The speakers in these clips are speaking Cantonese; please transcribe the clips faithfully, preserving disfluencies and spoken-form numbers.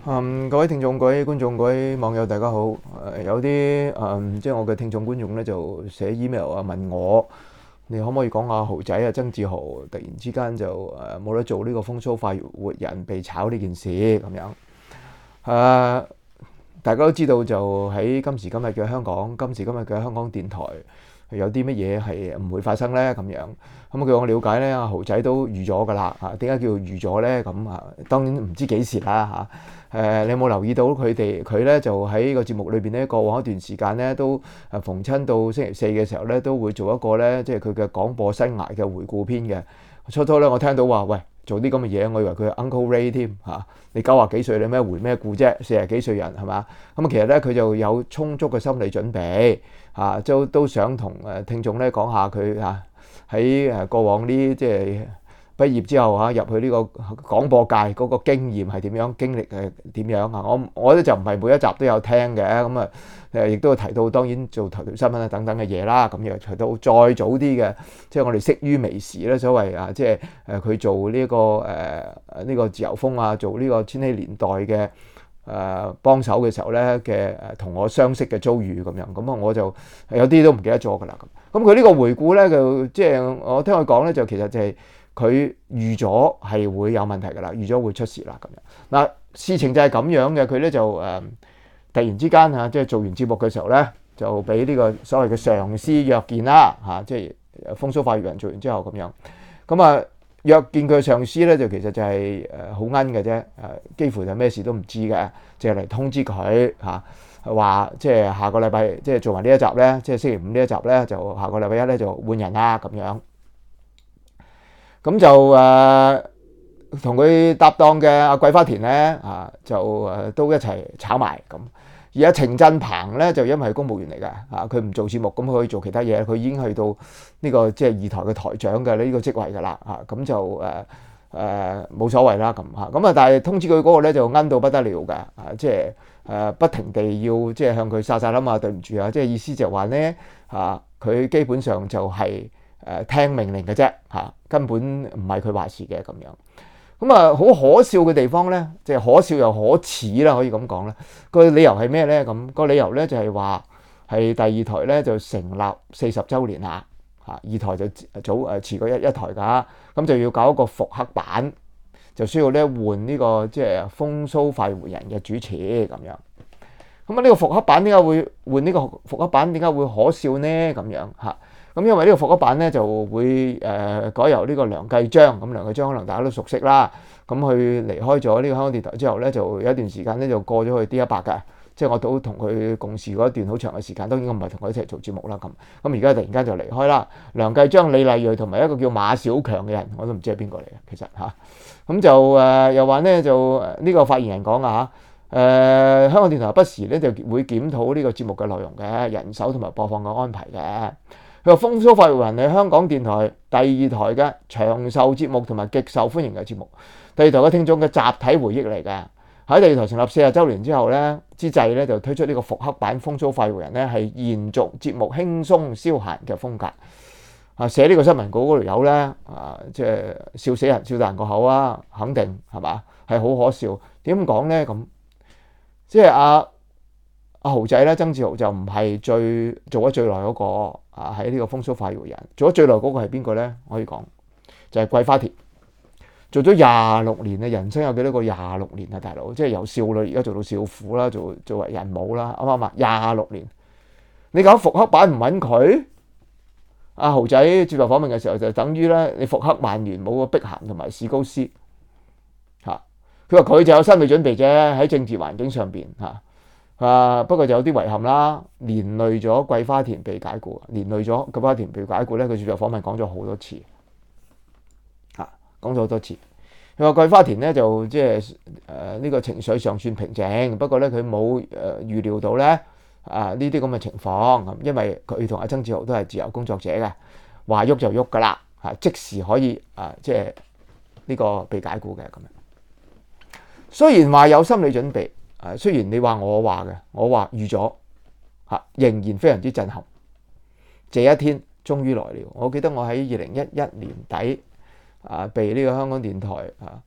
嗯，各位聽眾、各位觀眾、各位網友，大家好。誒，有啲誒，即係我嘅聽眾觀眾咧，就寫 email 啊，問我你可唔可以講下豪仔啊，曾志豪突然之間就誒冇得做呢個風騷快活人被炒呢件事咁樣。誒，大家都知道就喺今時今日嘅香港，今時今日嘅香港電台有啲乜嘢係唔會發生咧咁樣。咁據我了解咧，阿豪仔都預咗噶啦。嚇，點解叫預咗咧？咁啊，當然唔知幾時啦嚇。誒，你有冇留意到佢哋佢咧就喺個節目裏邊咧，過往一段時間咧都誒逢親到星期四嘅時候咧，都會做一個咧，即係佢嘅廣播生涯嘅回顧篇嘅。初初咧，我聽到話喂，做啲咁嘅嘢，我以為佢係 Uncle Ray 添嚇。你九廿幾歲，你咩回咩顧啫？四廿幾歲人係嘛？咁其實咧，佢就有充足嘅心理準備嚇，都都想同誒聽眾咧講下佢嚇喺誒過往呢即係畢業之後嚇入去呢個廣播界嗰個經驗係點樣，經歷係點樣啊？我我咧就唔係每一集都有聽嘅，咁啊誒亦都有提到當然做頭條新聞啊等等嘅嘢啦。咁又提到再早啲嘅，即係我哋識於微時咧，所謂啊即係誒佢做呢個誒呢個自由風啊，做呢個千禧年代嘅誒幫手嘅時候咧嘅誒同我相識嘅遭遇咁樣，咁啊我就有啲都唔記得咗㗎啦。咁咁佢呢個回顧咧就即係我聽佢講咧，就其實就係佢預咗係會有問題㗎啦，預咗會出事啦咁樣。嗱，事情就係咁樣嘅，佢咧就誒突然之間嚇，即係做完節目嘅時候咧，就俾呢個所謂嘅上司約見啦嚇，即係風騷快活人做完之後咁樣。咁啊約見佢上司咧，就其實就係誒好奀嘅啫，誒幾乎就咩事都唔知嘅，淨係嚟通知佢嚇，話即係下個禮拜即係做埋呢一集咧，即係星期五呢一集咧，就下個禮拜一咧就換人啦咁樣。咁就誒同佢搭檔嘅阿桂花田咧啊，就誒都一齊炒埋咁。而阿程振鵬咧就因為係公務員嚟嘅啊，佢唔做節目，咁佢可以做其他嘢，佢已經去到呢個即係二台嘅台長嘅呢個職位㗎啦啊，咁就誒誒冇所謂啦咁嚇。咁啊，但係通知佢嗰個咧就奀到不得了嘅啊，即係誒不停地要即係向佢撒撒冧啊，對唔住啊，即係意思就話咧啊，佢基本上就係誒聽命令嘅啫嚇，根本唔係佢話事嘅咁樣。咁啊，好可笑嘅地方咧，即係可笑又可恥啦，可以咁講啦。個理由係咩咧？咁個理由咧就係話係第二台咧就成立四十週年啦，嚇二台就早誒遲過一一台㗎，咁就要搞一個復刻版，就需要咧換呢個即係風騷快活人嘅主持咁樣。咁啊，呢個復刻版點解會換呢個復刻版？點解會可笑呢？咁樣嚇。咁因為呢個復刻版咧就會誒改由呢個梁繼章，咁梁繼章可能大家都熟悉啦。咁佢離開咗呢個香港電台之後咧，就有一段時間咧就過咗去 D 一百嘅，即係我都同佢共事過一段好長嘅時間。當然我唔係同佢一齊做節目啦。咁咁而家突然間就離開啦。梁繼章、李麗蕊同埋一個叫馬小強嘅人，我都唔知係邊個嚟嘅，其實嚇。咁就誒又話咧就呢個發言人講啊嚇，誒香港電台不時咧就會檢討呢個節目嘅內容嘅人手同埋播放嘅安排嘅。佢話風騷快活人係香港電台第二台嘅長壽節目同埋極受歡迎嘅節目，第二台嘅聽眾嘅集體回憶嚟嘅。喺第二台成立四十週年之後咧，之際咧就推出呢個復刻版風騷快活人咧，係延續節目輕鬆消閒嘅風格。啊，寫呢個新聞稿嗰條友咧，啊，即係笑死人，笑大人個口啊，肯定係嘛，係好可笑。點講咧咁？即係阿阿豪仔咧，曾志豪就唔係最做咗最耐嗰個。啊！喺呢個風騷快活人做咗最耐嗰個係邊個咧？可以講就係桂花田，做咗廿六年啊！人生有幾多個廿六年啊？大佬，即係由少女而家做到少婦啦，做做為人母啦，啱唔啱啊？廿六年，你搞復刻版唔揾佢？阿豪仔接受訪問嘅時候就等於咧，你復刻曼聯冇個碧咸同埋史高斯嚇。佢話佢就有心理準備啫，喺政治環境上邊嚇。啊！不過就有啲遺憾啦，連累咗桂花田被解雇，連累咗桂花田被解雇咧。佢接受訪問講咗好多次，嚇講咗好多次。佢話桂花田咧就即係誒呢個情緒尚算平靜，不過咧佢冇誒預料到咧啊呢啲咁嘅情況咁，因為佢同阿曾志豪都係自由工作者嘅，話喐就喐噶啦嚇，即時可以啊即係呢個被解雇嘅咁樣。雖然話有心理準備。誒雖然你話我話嘅，我話預咗嚇，仍然非常之震撼。這一天終於來了。我記得我喺二零一一年底啊，被呢個香港電台啊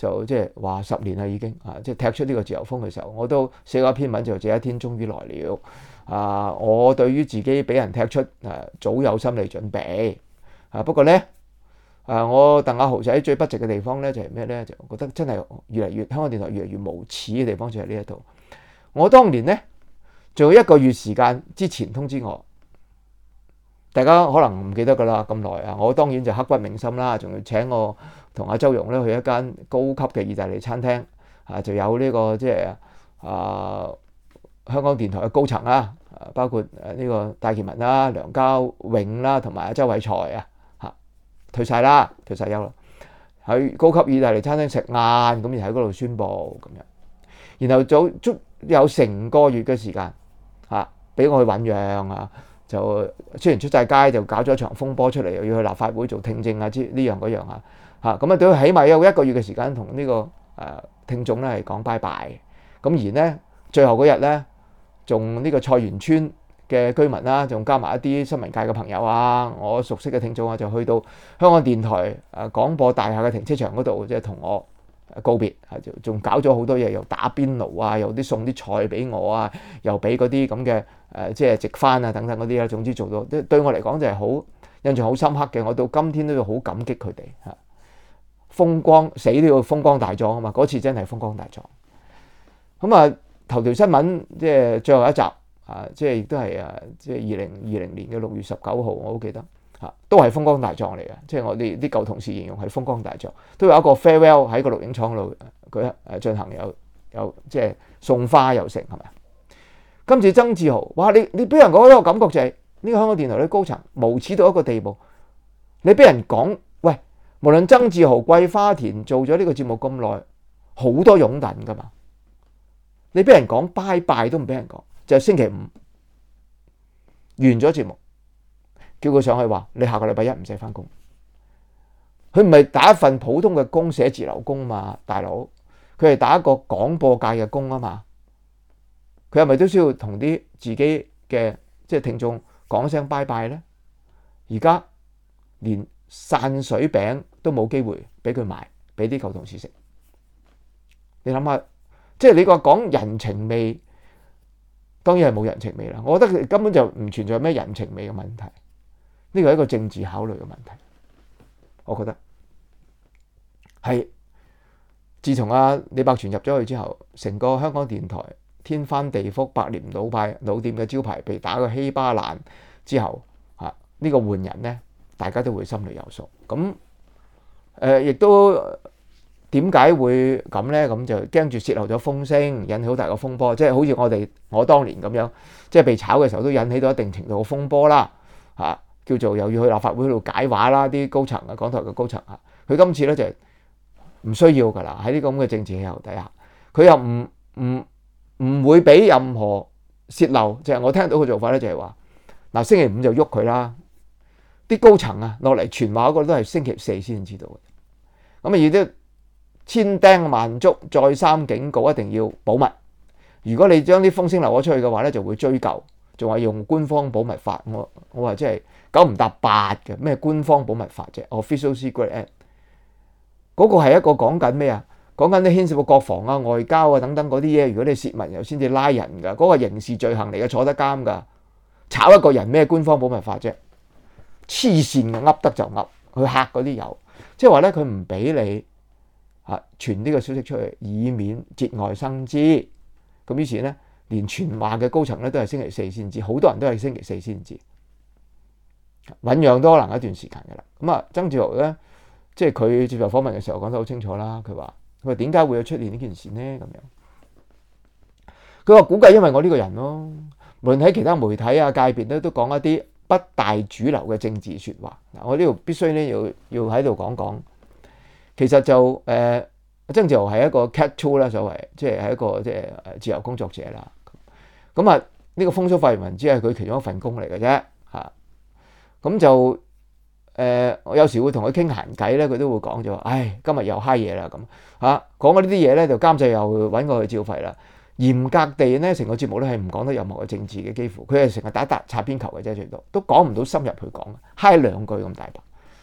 就即係話十年啦已經啊，即係踢出呢個自由風嘅時候，我都寫過一篇文就這一天終於來了啊！我對於自己俾人踢出誒早有心理準備啊，不過咧啊，我鄧阿豪仔最不值嘅地方咧就係咩咧？就覺得真係越嚟越香港電台越嚟越無恥嘅地方就係呢一度。我當年咧仲有一個月時間之前通知我。大家可能唔記得㗎啦，咁耐啊！我當然就刻骨銘心啦，仲要請我同阿周融咧去一間高級嘅意大利餐廳啊，就有呢、這個即係啊香港電台嘅高層啦，包括誒呢個戴建文啦、梁家永啦，同埋阿周偉才啊嚇退晒啦，退晒休啦，喺高級意大利餐廳食晏，咁然後喺嗰度宣佈咁樣，然後早足有成個月嘅時間嚇俾我去醖釀啊！就雖然出晒街，就搞咗一場風波出嚟，又要去立法會做聽證啊，之呢樣嗰樣啊，嚇咁啊，都起碼有一個月嘅時間同呢個誒聽眾咧係講拜拜。咁而呢，最後嗰日咧，仲呢個菜園村嘅居民啦，仲加埋一啲新聞界嘅朋友啊，我熟悉嘅聽眾啊，就去到香港電台誒廣播大廈嘅停車場嗰度，即係同我告別，就仲搞咗好多嘢，又打邊爐啊，又啲送啲菜俾我啊，又俾嗰啲咁嘅誒，即係直幡啊等等嗰啲啦。總之做到，對對我嚟講就係好印象好深刻嘅。我到今天都要好感激佢哋嚇。風光死都要風光大狀啊嘛！嗰次真係風光大狀。咁啊，頭條新聞即係最後一集啊，即係亦都係啊，即係二零二零年嘅六月十九號，我好記得。都係風光大狀嚟嘅，即係我哋啲舊同事形容係風光大狀，都有一個 farewell 喺個錄影廠度佢誒進行有有即係送花又成係咪？今次曾志豪，哇！你你俾人講一個感覺就係、是、呢、這個香港電台啲高層無恥到一個地步，你俾人講喂，無論曾志豪、桂花田做咗呢個節目咁耐，好多擁躉噶嘛，你俾人講拜拜都唔俾人講，就係、是、星期五完咗節目。叫佢上去話：你下個禮拜一唔使翻工。佢唔係打一份普通嘅工，寫字樓工嘛，大佬。佢係打一個廣播界嘅工啊嘛。佢係咪都需要同啲自己嘅即係聽眾講聲拜拜咧？而家連散水餅都冇機會俾佢賣，俾啲舊同事食。你諗下，即係你個講人情味，當然係冇人情味啦。我覺得佢根本就唔存在咩人情味嘅問題。呢個係一個政治考慮嘅問題，我覺得係自從阿李百全入咗去之後，成個香港電台天翻地覆、百年老派老店嘅招牌被打個稀巴爛之後，嚇、這、呢個換人呢，大家都會心裏有數。咁誒，亦、呃、都點解會咁呢？咁就驚住泄漏咗風聲，引起好大個風波，即係好似我哋我當年咁樣，即係被炒嘅時候都引起到一定程度嘅風波啦，嚇。叫做又要去立法會度解話啦，啲高層啊，港台嘅高層啊，佢今次咧就係唔需要噶啦，喺呢個咁嘅政治氣候底下，佢又唔唔唔會俾任何泄漏，就係我聽到嘅做法咧就係話，嗱星期五就喐佢啦，啲高層啊落嚟傳話嗰個都係星期四先知道嘅，咁啊要啲千叮萬囑，再三警告，一定要保密。如果你將啲風聲流咗出去嘅話咧，就會追究。仲係用官方保密法，我我話真係九唔搭八嘅咩官方保密法啫 ？Official Secret Act 嗰個係一個講緊咩啊？講緊啲牽涉到國防啊、外交啊等等嗰啲嘢。如果你泄密又先至拉人㗎，嗰、嗰個刑事罪行嚟嘅，坐得監㗎。炒一個人咩官方保密法啫？黐線嘅，噏得就噏，去嚇嗰啲友，即係話咧佢唔俾你啊傳呢個消息出去，以免節外生枝。咁於是咧。連傳話嘅高層咧都係星期四先知，好多人都係星期四先知，醞釀都可能一段時間嘅啦。咁啊，曾志豪咧，即係佢接受訪問嘅時候講得好清楚啦。佢話：佢話點解會有出現呢件事呢？咁樣，佢話估計因為我呢個人咯，無論喺其他媒體啊界別咧，都講一啲不大主流嘅政治説話。嗱，我呢度必須咧要要喺度講講，其實就誒。呃曾志豪係一個 cat two 啦，所謂即係係一個即係自由工作者啦。咁啊，呢個風騷發言人只係佢其中一份工嚟嘅啫嚇。咁就誒、呃，我有時會同佢傾閒偈咧，佢都會講咗，唉，今日又嗨嘢啦咁嚇。講嗰啲嘢咧，就監製又揾我去照肺啦。嚴格地咧，成個節目咧係唔講得任何嘅政治嘅，幾乎佢係成日打打擦邊球嘅啫，最多都講唔到深入去講，嗨兩句咁大把。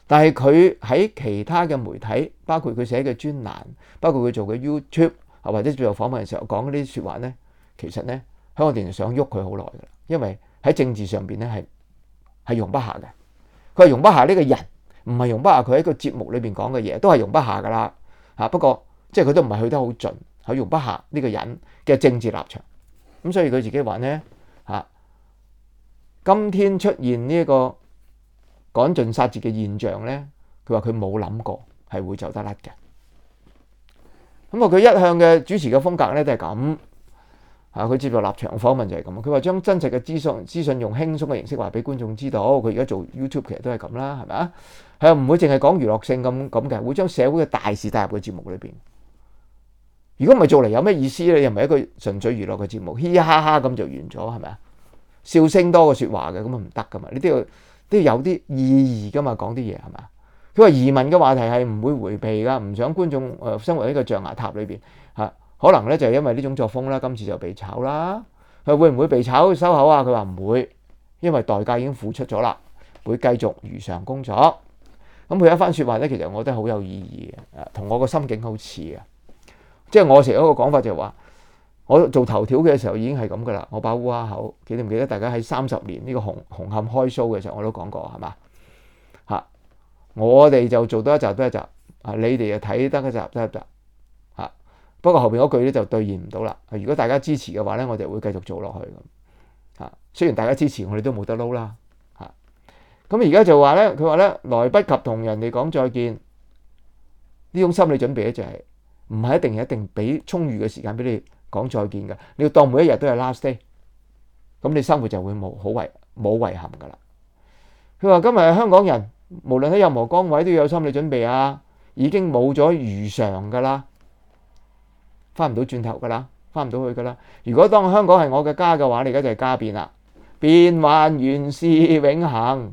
但係佢喺其他嘅媒體，包括佢寫嘅專欄，包括佢做嘅 YouTube 或者做訪問嘅時候講嗰啲説話咧，其實咧香港電台想喐佢好耐㗎啦，因為喺政治上邊咧係係容不下嘅。佢係容不下呢個人，唔係容不下佢喺個節目裏邊講嘅嘢，都係容不下㗎啦嚇。不過即係佢都唔係去得好盡，佢容不下呢個人嘅政治立場。咁所以佢自己話咧嚇，今天出現呢一個趕盡殺絕嘅現象咧，佢話佢冇諗過係會走得甩嘅。咁啊，佢一向嘅主持嘅風格咧都係咁啊。佢接受立場訪問就係咁。佢話將真實嘅資訊資訊用輕鬆嘅形式話俾觀眾知道。佢而家做 YouTube 其實都係咁啦，係咪啊？係啊，唔會淨係講娛樂性咁咁嘅，會將社會嘅大事帶入個節目裏邊。如果唔係做嚟有咩意思咧？又唔係一個純粹娛樂嘅節目，嘻嘻哈哈咁就完咗，係咪啊？笑聲多過説話嘅，咁啊唔得噶嘛。你都要都要有啲意義噶嘛，講啲嘢係咪啊？佢話移民嘅話題係唔會迴避噶，唔想觀眾誒生活喺個象牙塔裏邊嚇。可能咧就係因為呢種作風啦，今次就被炒啦。佢會唔會被炒收口啊？佢話唔會，因為代價已經付出咗啦，會繼續如常工作。咁佢一番説話咧，其實我覺得好有意義嘅，同我個心境好似嘅。即係我成日一個講法就係話，我做頭條嘅時候已經係咁噶啦。我把烏鴉口，記唔記得大家喺三十年呢個紅紅磡開 show 嘅時候我都講過係嘛嚇？我哋就做多一集多一集啊，你哋就睇得一集得一集嚇。不過後邊嗰句咧就兌現唔到啦。如果大家支持嘅話咧，我哋會繼續做落去咁嚇。雖然大家支持，我哋都冇得撈啦嚇。咁而家就話咧，佢話咧來不及同人哋講再見，呢種心理準備咧就係、是。唔係一定一定俾充裕嘅時間俾你講再見嘅，你要當每一日都係 last day，咁你生活就會冇好遺冇遺憾噶啦。佢話今日香港人無論喺任何崗位都要有心理準備啊，已經冇咗如常噶啦，翻唔到轉頭噶啦，翻唔到去噶啦。如果當香港係我嘅家嘅話，你而家就係家變啦，變幻原是永恆。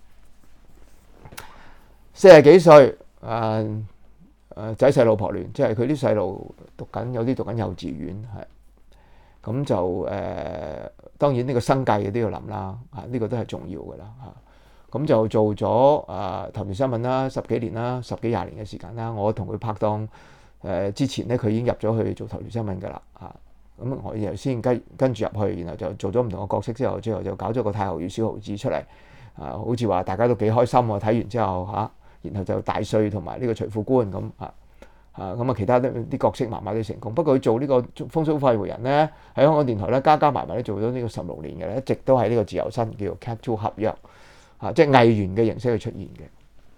四十幾歲啊。誒仔細老婆亂，即係佢啲細路讀緊，有啲讀緊幼稚園，係咁就誒、呃。當然呢個生計都要諗啦，啊呢、呢個都係重要嘅啦嚇。咁就做咗啊頭條新聞啦，十幾年啦，十幾廿年嘅時間啦。我同佢拍檔誒、呃、之前咧，佢已經入咗去做頭條新聞㗎啦嚇。咁我然後先跟跟住入去，然後就做咗唔同嘅角色之後，最後就搞咗個太后與小豪子出嚟啊，好似話大家都幾開心喎。睇完之後嚇。啊然後就大帥同埋呢個徐副官咁啊啊咁啊，其他啲角色麻麻都成功。不過佢做呢個風騷快活人咧，喺香港電台咧加加埋埋咧做咗呢個十六年嘅咧，一直都係呢個自由身叫做 Cat Two 合約啊，即係藝員嘅形式去出現嘅。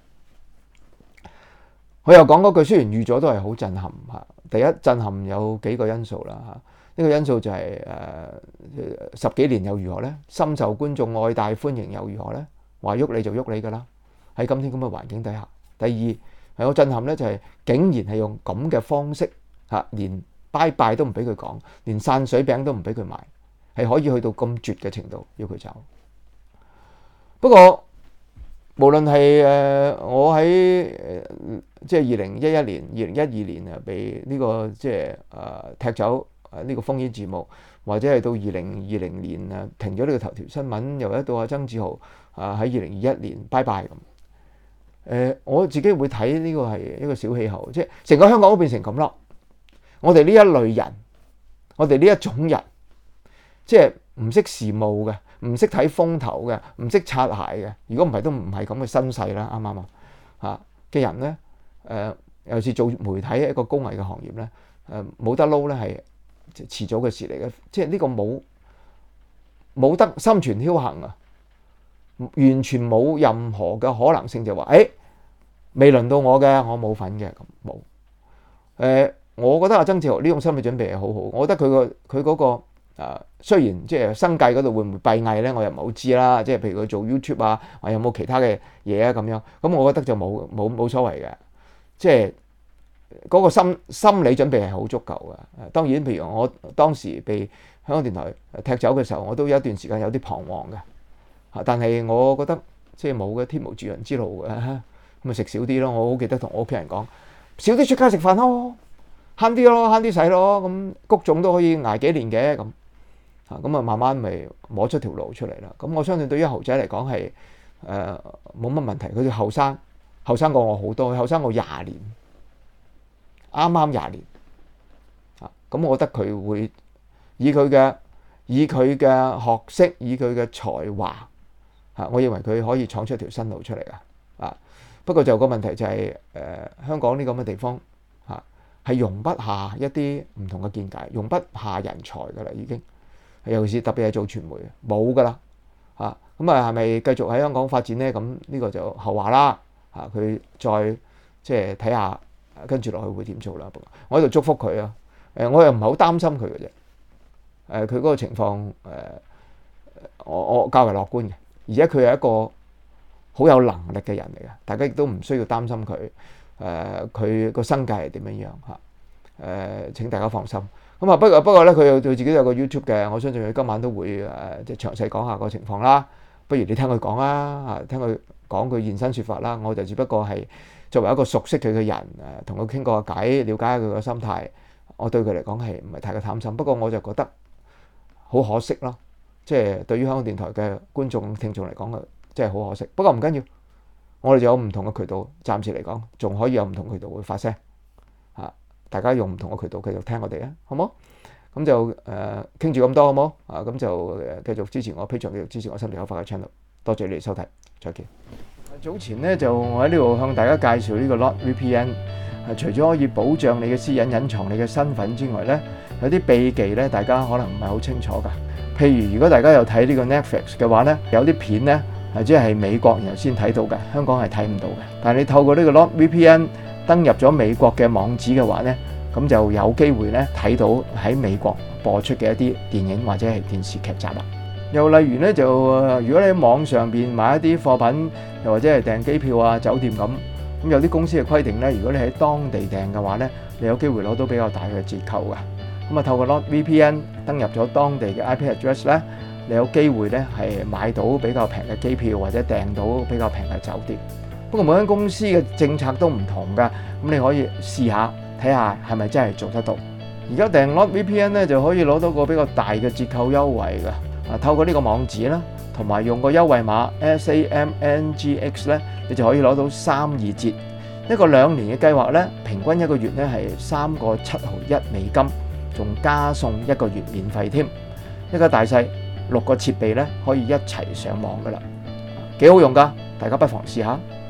佢又講嗰句，雖然預咗都係好震撼嚇。第一震撼有幾個因素啦嚇，呢、這個因素就係、是、誒、呃、十幾年又如何咧？深受觀眾愛戴歡迎又如何咧？話喐你就喐你㗎啦。喺今天咁嘅環境底下，第二係我震撼咧，就係竟然係用咁嘅方式嚇，連拜拜都唔俾佢講，連散水餅都唔俾佢賣，係可以去到咁絕嘅程度要佢走。不過無論係誒我喺誒即係二零一一年、二零一二年啊，被呢個即係誒踢走誒呢個烽煙節目，或者係到二零二零年啊停咗呢個頭條新聞，又一到阿曾志豪啊喺二零二一年拜拜咁。誒、呃、我自己會睇呢個係一個小氣候，即係成個香港都變成咁咯。我哋呢一類人，我哋呢一種人，即係唔識時務嘅，唔識睇風頭嘅，唔識擦鞋嘅。如果唔係都唔係咁嘅身世啦，啱唔啱啊？嚇嘅人咧，誒、呃、尤其是做媒體一個高危嘅行業咧，誒、呃、冇得撈咧係遲早嘅事嚟嘅。即係呢個冇冇得心存僥倖啊！完全冇任何嘅可能性就話，誒未輪到我嘅，我冇份嘅咁冇。誒、呃，我覺得阿曾志豪呢種心理準備係好好。我覺得佢個佢嗰個誒、呃，雖然即係生計嗰度會唔會閉翳咧，我又唔係好知啦。即係譬如佢做 YouTube 啊，或有冇其他嘅嘢啊咁樣。咁我覺得就冇冇冇所謂嘅。即係嗰個心心理準備係好足夠嘅。當然，譬如我當時被香港電台踢走嘅時候，我都有一段時間有啲彷徨嘅。但係我覺得即係冇嘅天無絕人之路嘅，咁咪食少啲咯。我好記得同我屋企人講，少啲出街食飯咯，慳啲咯，慳啲使咯。咁谷種都可以捱幾年嘅咁，嚇咁啊慢慢咪摸出條路出嚟啦。咁我相信對於豪仔嚟講係誒冇乜問題。佢哋後生後生過我好多，後生過廿年，啱啱廿年啊！咁我覺得佢會以佢嘅以佢嘅學識，以佢嘅才華嚇，我認為佢可以闖出一條新路出嚟啊！啊，不過就個問題就係、是、誒、呃、香港呢咁嘅地方嚇係容不下一啲唔同嘅見解，容不下人才㗎啦，已經尤其是特別係做傳媒冇㗎啦嚇。咁啊係咪繼續喺香港發展咧？咁呢個就後話啦嚇。佢再即係睇下跟住落去會點做啦。我喺度祝福佢啊！誒，我又唔係好擔心佢嘅啫。誒，佢嗰個情況誒，我我較為樂觀嘅，而且佢係一個好有能力嘅人嚟嘅，大家亦都唔需要擔心佢。誒，佢個生計係點樣樣嚇？誒，請大家放心。咁啊，不過不過咧，佢有佢自己有個 YouTube 嘅，我相信佢今晚都會誒即係詳細講下個情況啦。不如你聽佢講啦，啊，聽佢講佢現身說法啦。我就只不過係作為一個熟悉佢嘅人，誒，同佢傾過偈，了解下佢個心態。我對佢嚟講係唔係太過貪心，不過我就覺得好可惜咯。即係對於香港電台嘅觀眾聽眾嚟講，即係好可惜。不過唔緊要，我哋就有唔同嘅渠道，暫時嚟講仲可以有唔同渠道會發聲。嚇，大家用唔同嘅渠道繼續聽我哋啊，好冇？咁就誒傾住咁多好冇？啊，咁就繼續支持我 Patreon，繼續支持我心地口快嘅 channel。多謝你哋收睇，再見。早前咧就我喺呢度向大家介紹呢個 NordVPN，係除咗可以保障你嘅私隱、隱藏你嘅身份之外咧，有啲秘技咧，大家可能唔係好清楚㗎。譬如如果大家有睇呢個 Netflix 嘅話咧，有啲片咧係即係美國人先睇到嘅，香港係睇唔到嘅。但係你透過呢個 NordVPN 登入咗美國嘅網址嘅話咧，咁就有機會咧睇到喺美國播出嘅一啲電影或者係電視劇集啦。又例如咧就，如果你喺網上邊買一啲貨品，又或者係訂機票啊、酒店咁，咁有啲公司嘅規定咧，如果你喺當地訂嘅話咧，你有機會攞到比較大嘅折扣㗎。咁啊，透過 NordVPN 登入咗當地嘅 I P address 咧，你有機會咧係買到比較平嘅機票或者訂到比較平嘅酒店。不過每間公司嘅政策都唔同㗎，咁你可以試下睇下係咪真係做得到。而家訂 NordVPN 咧就可以攞到個比較大嘅折扣優惠㗎。啊，透過呢個網址啦，同埋用個優惠碼 S A M N G X 咧，你就可以攞到三二折。一個兩年嘅計劃咧，平均一個月咧係三個七毫一美金，仲加送一個月免費添。一家大細六個設備咧可以一齊上網噶啦，幾好用噶，大家不妨試下。